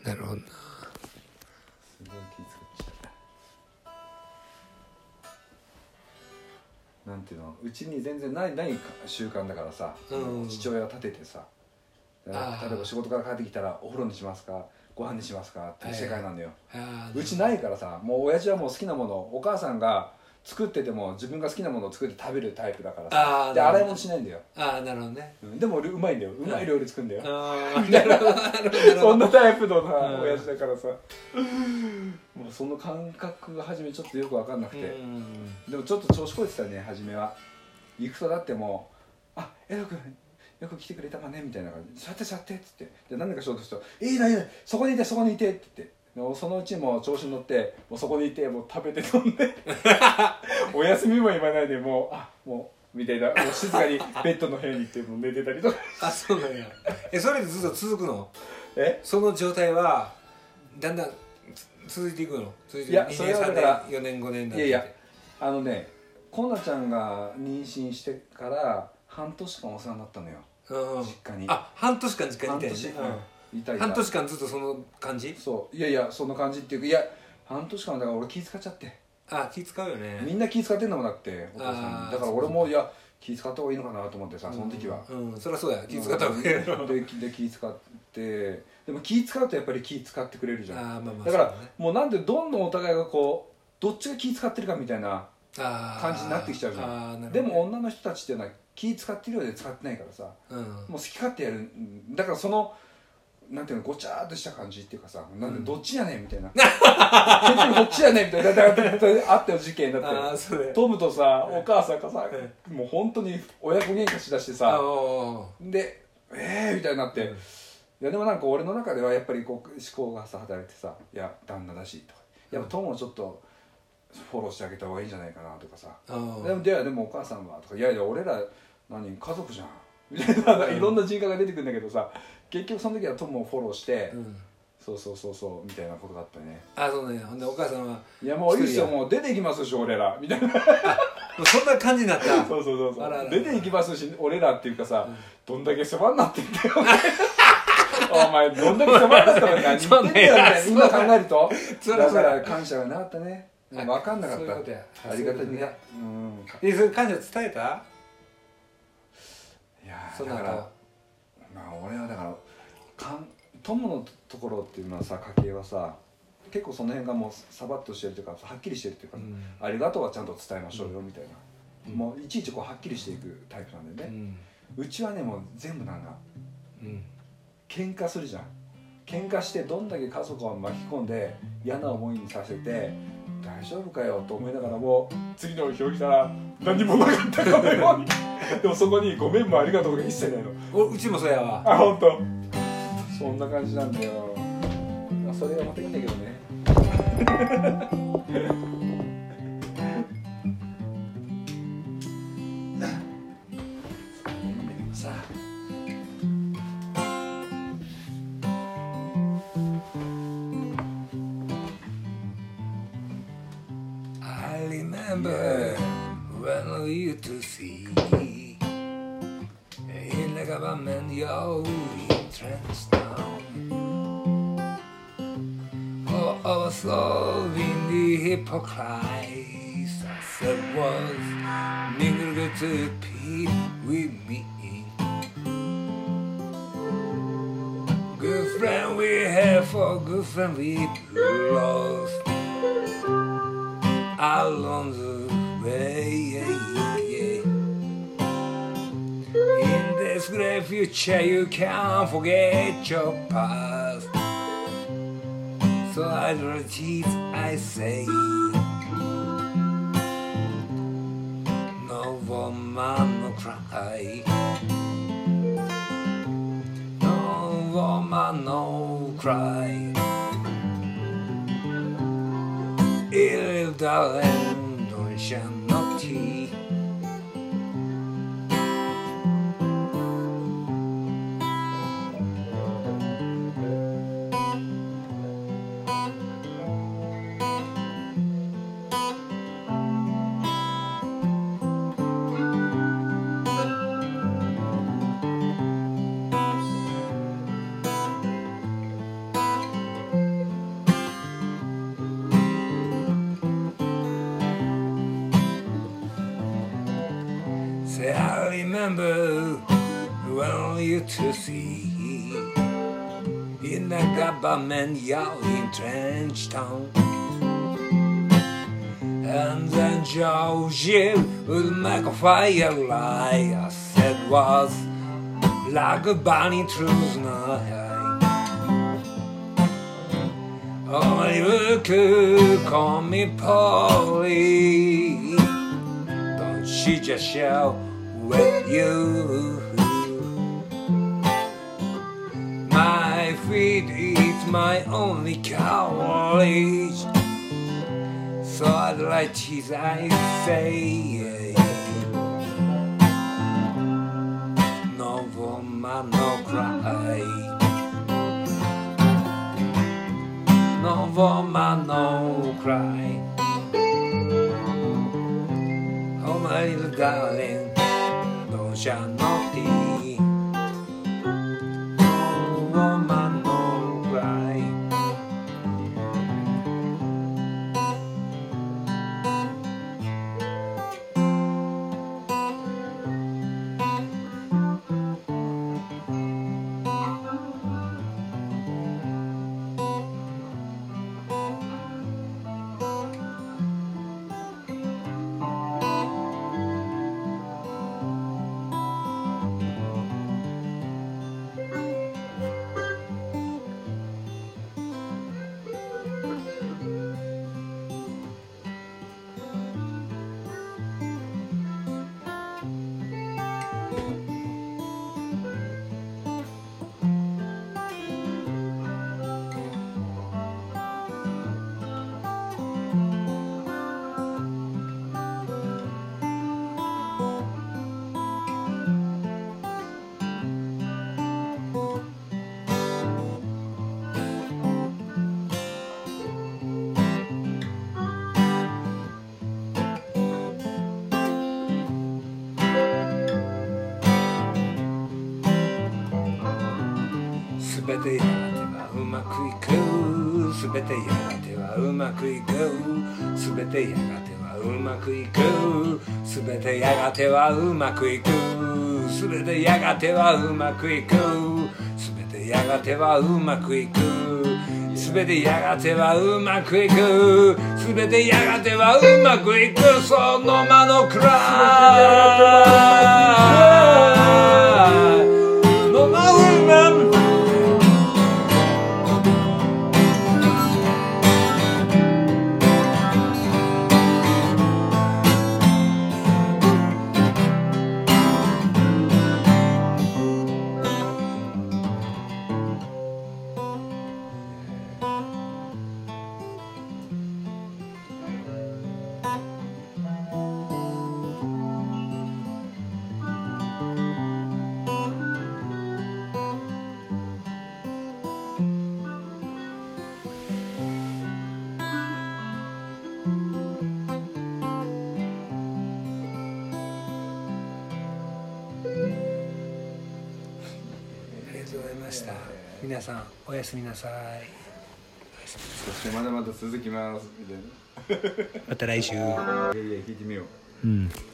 なるほどな。 すごい気使っちゃう。なんていうの、うちに全然ない習慣だからさ、父親が立ててさ、例えば仕事から帰ってきたらお風呂にしますかご飯にしますかっていう世界なんだよ。うちないからさ、もう親父はもう好きなもの、お母さんが作ってても自分が好きなものを作って食べるタイプだからさ、で洗い物しないんだよ。 なるほどね。 でもうまいんだよ、うまい料理作るんだよ。 なるほどなるほど。 そんなタイプの親父だからさ、もうその感覚が初めちょっとよく分かんなくて、でもちょっと調子こいてたね初めは。行くとだってもう「江戸君よく来てくれたかね」みたいな感じで「座って座って」っつって、で何かしようとすると「いいないいそこにいてそこにいて」って言って。そのうちも調子に乗ってもうそこにいてもう食べて飲んでお休みも言わないでもうもうみたいな、もう静かにベッドの部屋に行ってもう寝てたりとかそうなんや。それでずっと続くの？ その状態はだんだん続いていくの？ いや、それはだから 4年5年だって。 いやコナちゃんが妊娠してから半年間お世話になったのよ、実家に。 半年間実家にいたよね。半年間ずっとその感じ？ そう、いやその感じっていうか、いや半年間だから俺気使っちゃって。 気使うよね。 みんな気使ってんだもんだってお父さん。だから俺も気使った方がいいのかなと思ってさ、その時は。 そりゃそうや、気使った方がいいよ。 で気使って、でも気使うとやっぱり気使ってくれるじゃん。だからもうなんでどんどんお互いがこうどっちが気使ってるかみたいな感じになってきちゃうじゃん。でも女の人たちっていうのは気使ってるようで使ってないからさ、もう好き勝手やる。だからそのなんていうの、ごちゃーっとした感じっていうかさ、なんでどっちやねんみたいな結局どっちやねんみたいな、だからあったよ事件だって。トムとさお母さんがさもう本当に親子喧嘩しだしてさ、でみたいになって、いやでもなんか俺の中ではやっぱりこう思考がさ働いてさ、いや旦那だしとか、やっぱトムをちょっとフォローしてあげた方がいいんじゃないかなとかさ、でもお母さんはとか、いや俺ら家族じゃんみたいな、いろんな人格が出てくるんだけどさ、結局その時はトムをフォローして、そうみたいなことがあったね。 そうね。ほんでお母さんは 「いやもういいっすよ、もう出ていきますし俺ら」みたいなそんな感じになった。 そう出ていきますし俺らっていうかさ、どんだけ世話になってんだよお前どんだけ世話になったのに何言ってんだよみたいな、今考えると。だから感謝がなかったね。分かんなかった。ありがたみが。 それ感謝伝えた？ いやだから俺はだから友のところっていうのはさ、家系はさ結構その辺がもうサバッとしてるというかはっきりしてるっていうか、ありがとうはちゃんと伝えましょうよみたいな、もういちいちこうはっきりしていくタイプなんでね。うちはねもう全部なんか喧嘩するじゃん。喧嘩してどんだけ家族を巻き込んで嫌な思いにさせて大丈夫かよと思いながらも、次の日起きたら何もなかったかのようにでもそこにごめんもありがとうとか一切ないの。 うちもそうやわ。 本当。そんな感じなんだよ。それがまたいいんだけどねさあ I remember when we used to see in the government your entrance down. Oh, I was so in the hypocrisy that was mingled to be with me. Good friend we have, for good friend we lost along the way. In this great future you can't forget your past, so I repeat, I say, no woman no cry, no woman no cry. Il darling non c'è notti. remember when we used to see in the government yard in Trench Town. And then Georgie would make a firelight. I said was like a bunny through the night. Oh, you could call me Polly. Don't she just shout with you? My feet is my only courage. So I'd like cheese, I say. No woman, no cry. No woman, no cry. Oh my little darling, don't shed no tears. No woman, no cry.すべてやがてはうまくいく。すべてやがてはうまくいく。すべてやがてはうまくいく。すべてやがてはうまくいく。すべてやがてはうまくいく。すべてやがてはうまくいく。すべてやがてはうまくいく。すべてやがてはうまくいく。その間のくらいのまうま皆さんおやすみなさい。 そしてまだまだ続きますみたいな。 また来週。 いやいや聞いてみよう。 うん。